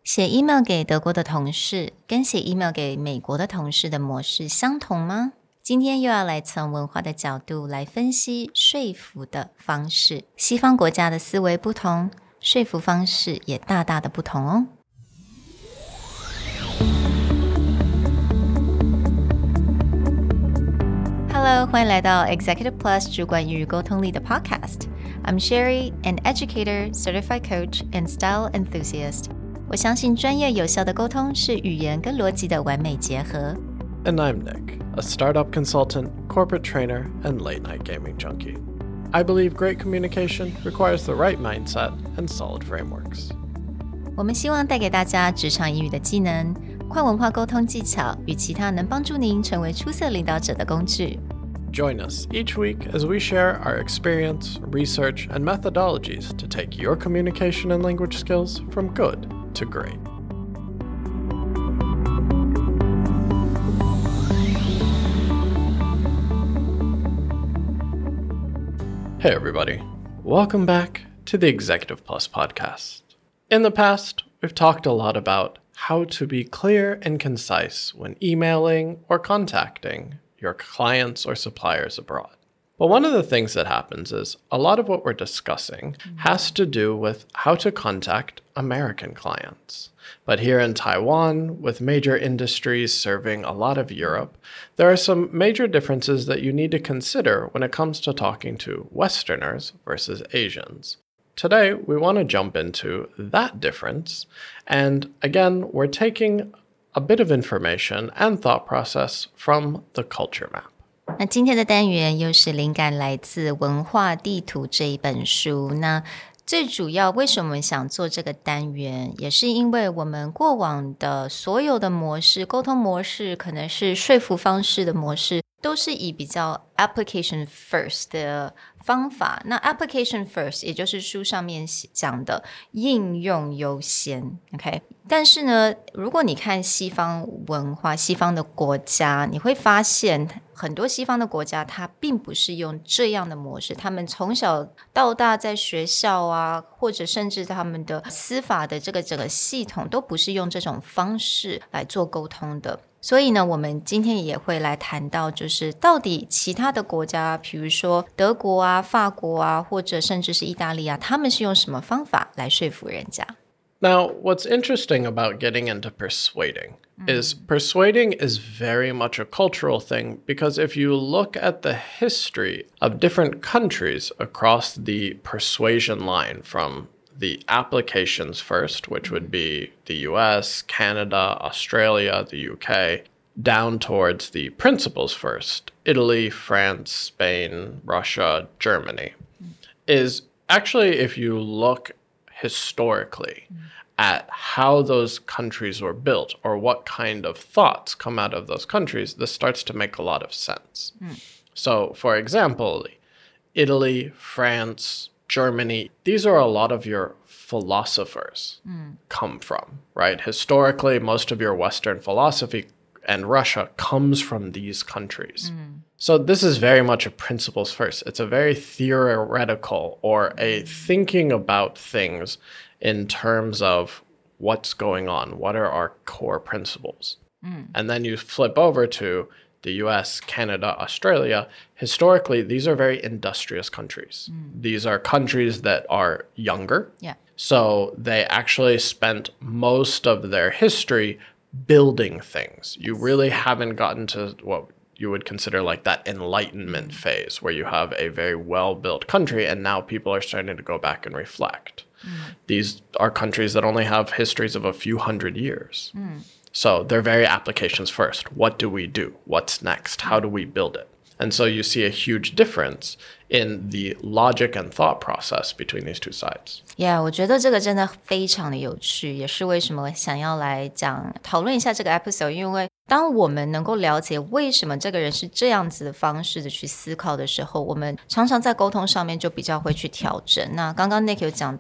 寫 email 給德國的同事跟寫 email 給美國的同事的模式相同嗎？今天又要來從文化的角度來分析說服的方式。西方國家的思維不同，說服方式也大大的不同哦。Hello， 歡迎來到 Executive Plus 主管與溝通力的 Podcast。I'm Sherry, an educator, certified coach, and style enthusiast。我相信專業有效的溝通是語言跟邏輯的完美結合。 And I'm Nick, a startup consultant, corporate trainer, and late-night gaming junkie. I believe great communication requires the right mindset and solid frameworks. 我們希望帶給大家職場英語的技能、跨文化溝通技巧與其他能幫助您成為出色領導者的工具。 Join us each week as we share our experience, research, and methodologies to take your communication and language skills from good to great. Hey everybody, welcome back to the Executive Plus podcast. In the past, we've talked a lot about how to be clear and concise when emailing or contacting your clients or suppliers abroad. But one of the things that happens is a lot of what we're discussing has to do with how to contact American clients. But here in Taiwan, with major industries serving a lot of Europe, there are some major differences that you need to consider when it comes to talking to Westerners versus Asians. Today, we want to jump into that difference. And again, we're taking a bit of information and thought process from the culture map. 那今天的单元又是靈感來自《文化地圖》這一本書。那最主要為什麼我們想做這個單元，也是因為我們過往的所有的模式，溝通模式，可能是說服方式的模式，都是以比較 application first 的方法。那 application first 也就是書上面講的應用優先 ，OK？ 但是呢，如果你看西方文化、西方的國家，你會發現很多西方的國家它並不是用這樣的模式，他們從小到大在學校啊，或者甚至他們的司法的這個整個系統都不是用這種方式來做溝通的。所以呢，我們今天也會來談到，就是到底其他的國家，比如說德國啊、法國啊，或者甚至是意大利啊，他們是用什麼方法來說服人家 ？Now, what's interesting about getting into persuading is persuading is very much a cultural thing, because if you look at the history of different countries across the persuasion line, from the applications first, which would be the US, Canada, Australia, the UK, down towards the principles first, Italy, France, Spain, Russia, Germany, is actually, if you look historically at how those countries were built or what kind of thoughts come out of those countries, this starts to make a lot of sense. So, for example, Italy, France, Germany, these are a lot of your philosophers come from, right? Historically, most of your Western philosophy and Russia comes from these countries. So this is very much a principles first. It's a very theoretical or a thinking about things in terms of what's going on, what are our core principles. And then you flip over to the US, Canada, Australia. Historically, these are very industrious countries. These are countries that are younger. Yeah. So they actually spent most of their history building things. You really haven't gotten to what you would consider like that enlightenment phase, where you have a very well-built country and now people are starting to go back and reflect. These are countries that only have histories of a few hundred years. So they're very applications first. What do we do? What's next? How do we build it? And so you see a huge difference in the logic and thought process between these two sides. Yeah, 我覺得這個真的非常的有趣，也是為什麼想要來討論一下這個 episode， 因為當我們能夠了解為什麼這個人是這樣子的方式的去思考的時候，我們常常在溝通上面就比較會去調整。那剛剛 Nick 有講到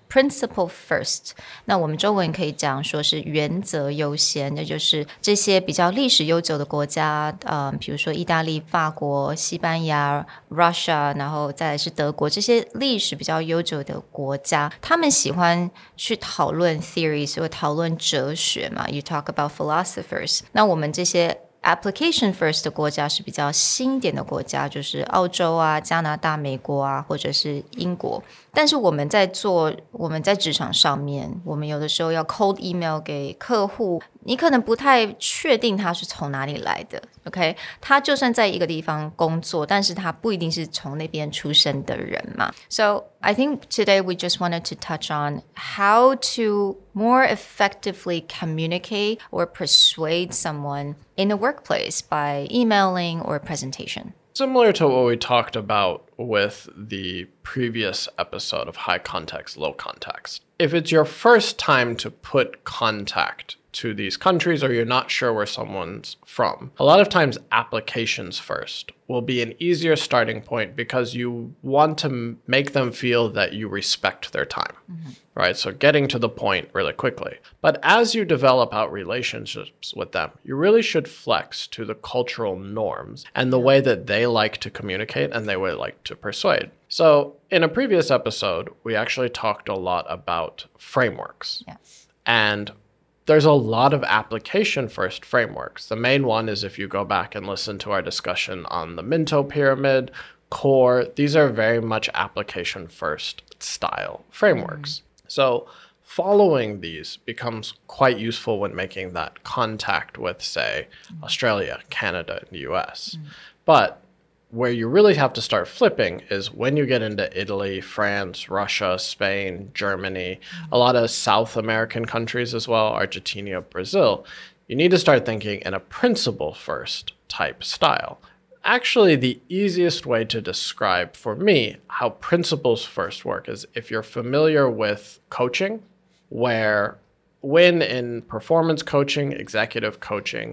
principle first， 那我們中文可以講說是原則優先，那就是這些比較歷史悠久的國家，比如說意大利、法國、西班牙、Russia， 然後再來是德國，這些歷史比較悠久的國家，他們喜歡去討論 theories 或討論哲學嘛。You talk about philosophers， 那我們這些application first 的國家是比較新一點的國家，就是澳洲啊、加拿大、美國啊，或者是英國。但是我們在職場上面，我們有的時候要 cold email 給客戶，你可能不太確定他是從哪裡來的 ，OK？ 他就算在一個地方工作，但是他不一定是從那邊出生的人嘛。So I think today we just wanted to touch on how to more effectively communicate or persuade someone in the workplace by emailing or presentation. Similar to what we talked about with the previous episode of high context, low context. If it's your first time to put contact to these countries or you're not sure where someone's from, a lot of times applications first will be an easier starting point because you want to make them feel that you respect their time, right? So getting to the point really quickly. But as you develop out relationships with them, you really should flex to the cultural norms and the way that they like to communicate and they would like to persuade. So in a previous episode, we actually talked a lot about frameworks. Yes. And there's a lot of application-first frameworks. The main one is if you go back and listen to our discussion on the Minto Pyramid, CORE, these are very much application-first style frameworks. So following these becomes quite useful when making that contact with, say, Australia, Canada, and the US. But where you really have to start flipping is when you get into Italy, France, Russia, Spain, Germany, a lot of South American countries as well, Argentina, Brazil. You need to start thinking in a principle first type style. Actually, the easiest way to describe for me how principles first work is if you're familiar with coaching, where when in performance coaching, executive coaching,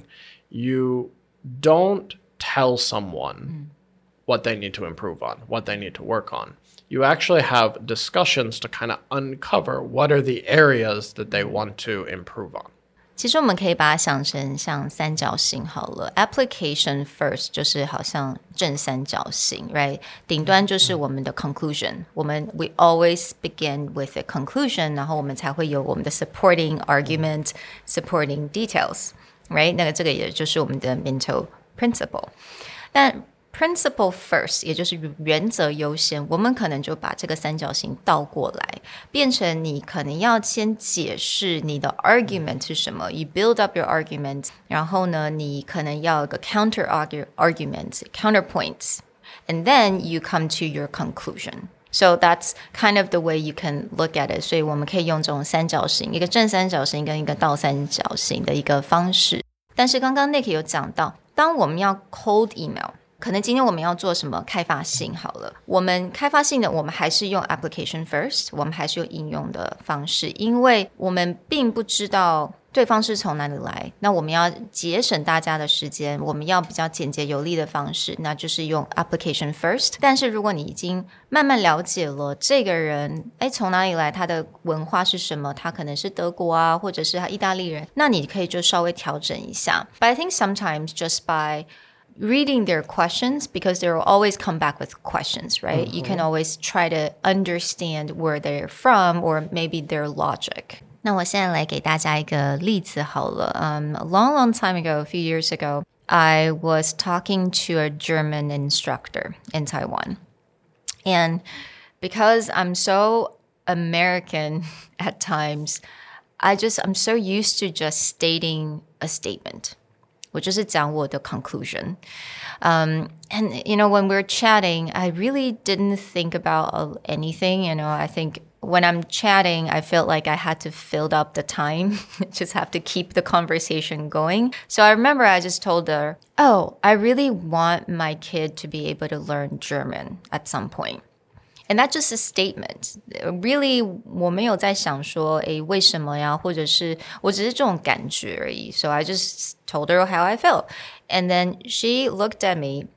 you don't tell someone what they need to improve on, what they need to work on. You actually have discussions to kind of uncover what are the areas that they want to improve on. 其實我們可以把它想成像三角形好了 ，application first 就是好像正三角形 ，right？ 頂端就是我們的 conclusion， we always begin with a conclusion， 然後我们才會有我們的 supporting argument、supporting details，right？ 这個也就是我們的 Minto principle， 但principle first 也就是原則優先，我們可能就把這個三角形倒過來，變成你可能要先解釋你的 argument 是什麼 ，you build up your argument， 然後呢，你可能要有個 counter argument, counterpoints, and then you come to your conclusion. So that's kind of the way you can look at it. 所以我們可以用這種三角形，一個正三角形跟一個倒三角形的一個方式。但是剛剛 Nick 有講到，當我們要 cold email，可能今天我們要做什麼開發性好了，我們開發性的我們還是用 application first， 我們還是用應用的方式，因為我們並不知道對方是從哪裡來，那我們要節省大家的時間，我們要比較簡潔有力的方式，那就是用 application first。但是如果你已經慢慢了解了這個人，從哪裡來，他的文化是什麼，他可能是德國啊，或者是他意大利人，那你可以就稍微調整一下。But I think sometimes just by reading their questions, because they will always come back with questions, right? You can always try to understand where they're from or maybe their logic. 那我現在來給大家一個例子好了。A long time ago, a few years ago, I was talking to a German instructor in Taiwan. And because I'm so American at times, I'm so used to just stating a statement.我就是講我的 conclusion. And, when we're chatting, I really didn't think about anything. I think when I'm chatting, I felt like I had to fill up the time, just have to keep the conversation going. So I remember I just told her, I really want my kid to be able to learn German at some point.And that's just a statement. Really, 我沒有在想說，為什麼呀？或者是我只是這種感覺而已。So I just told her how I felt. And then she looked at me,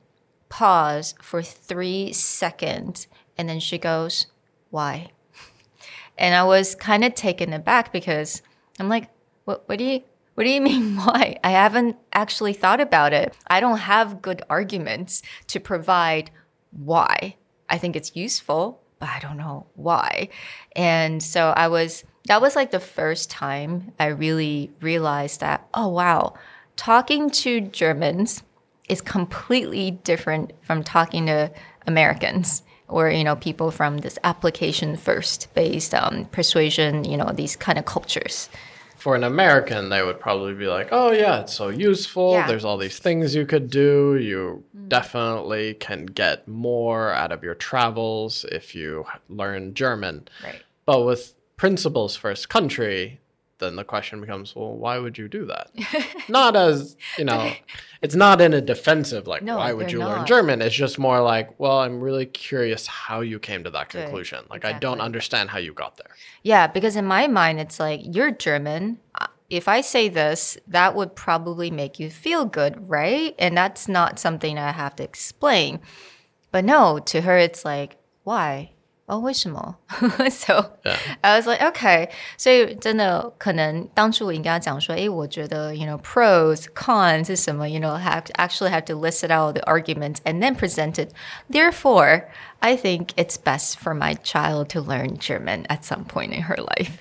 paused for 3 seconds, and then she goes, why? And I was kind of taken aback because I'm like, what do you mean why? I haven't actually thought about it. I don't have good arguments to provide why. I think it's useful, but I don't know why. And so that was like the first time I really realized that, oh wow, talking to Germans is completely different from talking to Americans. Or, people from this application first based persuasion, these kind of cultures. For an American, they would probably be like, oh, yeah, it's so useful. Yeah. There's all these things you could do. You definitely can get more out of your travels if you learn German. Right. But with principles first country, then the question becomes, well, why would you do that? Not as, it's not in a defensive, like, no, why would you learn German? It's just more like, well, I'm really curious how you came to that conclusion. Like, exactly. I don't understand how you got there. Yeah, because in my mind, it's like, you're German. If I say this, that would probably make you feel good, right? And that's not something I have to explain. But no, to her, it's like, why?哦，为什麼？ So yeah. I was like, okay. 所以真的可能当初我应该講說，我覺得pros, cons 是什麼？actually have to list it out the arguments and then present it. Therefore, I think it's best for my child to learn German at some point in her life.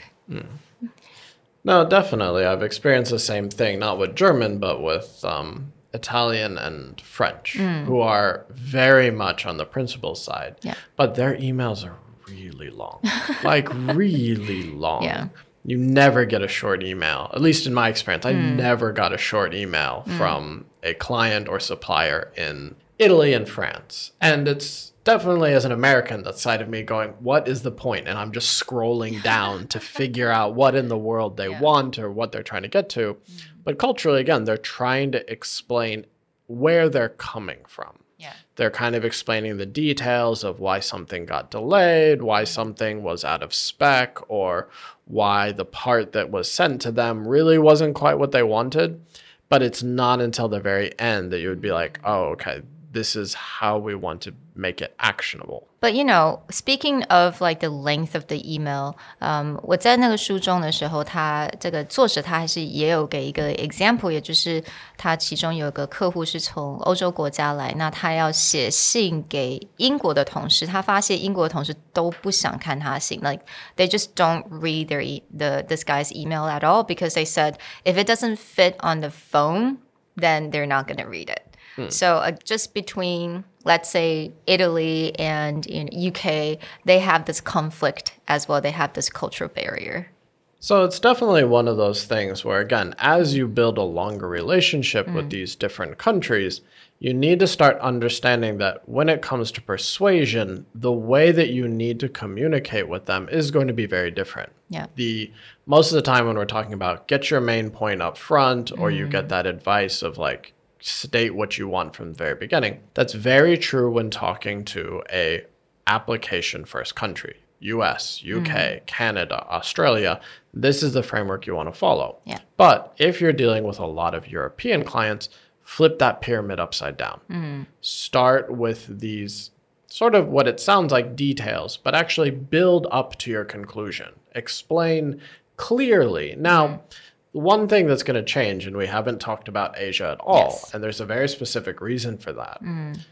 No, definitely. I've experienced the same thing, not with German, but with Italian and French, who are very much on the principal side. Yeah. But their emails are really long, like really long. Yeah. You never get a short email. At least in my experience, I never got a short email from a client or supplier in Italy and France. And it's definitely, as an American, that side of me going, what is the point? And I'm just scrolling down to figure out what in the world they want or what they're trying to get to. But culturally, again, they're trying to explain where they're coming from. Yeah. They're kind of explaining the details of why something got delayed, why something was out of spec, or why the part that was sent to them really wasn't quite what they wanted. But it's not until the very end that you would be like, oh, okay, this is how we want to make it actionable. But speaking of like the length of the email, 我在那個書中的時候，他這個作者他還是也有給一個 example， 也就是他其中有一個客戶是從歐洲國家來，那他要寫信給英國的同事，他發現英國的同事都不想看他信 ，like they just don't read this guy's email at all because they said if it doesn't fit on the phone, then they're not going to read it. So just between, let's say, Italy and UK, they have this conflict as well. They have this cultural barrier. So it's definitely one of those things where, again, as you build a longer relationship with these different countries, you need to start understanding that when it comes to persuasion, the way that you need to communicate with them is going to be very different. Yeah. Most of the time when we're talking about get your main point up front, or you get that advice of like, state what you want from the very beginning. That's very true when talking to a application first country. US, UK, Canada, Australia. This is the framework you want to follow. Yeah. But if you're dealing with a lot of European clients, flip that pyramid upside down. Start with these sort of what it sounds like details, but actually build up to your conclusion. Explain clearly. Now, one thing that's going to change, and we haven't talked about Asia at all, and there's a very specific reason for that.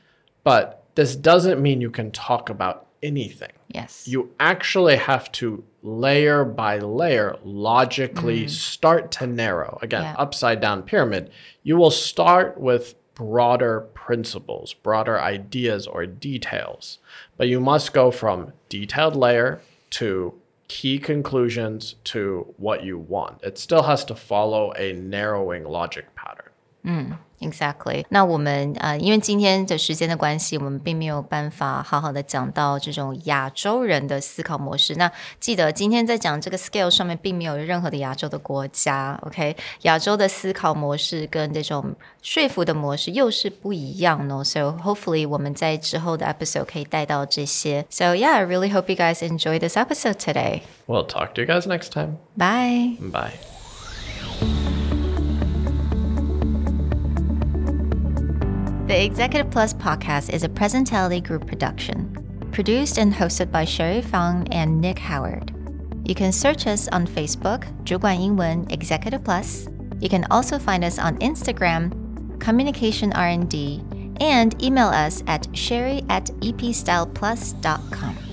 But this doesn't mean you can talk about anything. Yes. You actually have to layer by layer logically start to narrow. Again, upside down pyramid. You will start with broader principles, broader ideas or details. But you must go from detailed layer to key conclusions to what you want. It still has to follow a narrowing logic pattern. Exactly. 那我們因為今天的時間的關係，我們並沒有辦法好好的講到這種亞洲人的思考模式。那記得今天在講這個 scale 上面，並沒有任何的亞洲的國家 ，OK？ 亞洲的思考模式跟這種說服的模式又是不一樣呢。So hopefully 我們在之後的 episode 可以帶到這些。So yeah, I really hope you guys enjoy this episode today. We'll talk to you guys next time. Bye. Bye. The Executive Plus podcast is a Presentality Group production, produced and hosted by Sherry Fang and Nick Howard. You can search us on Facebook, 主管英文 Executive Plus. You can also find us on Instagram, Communication R&D, and email us at sherry@epstyleplus.com.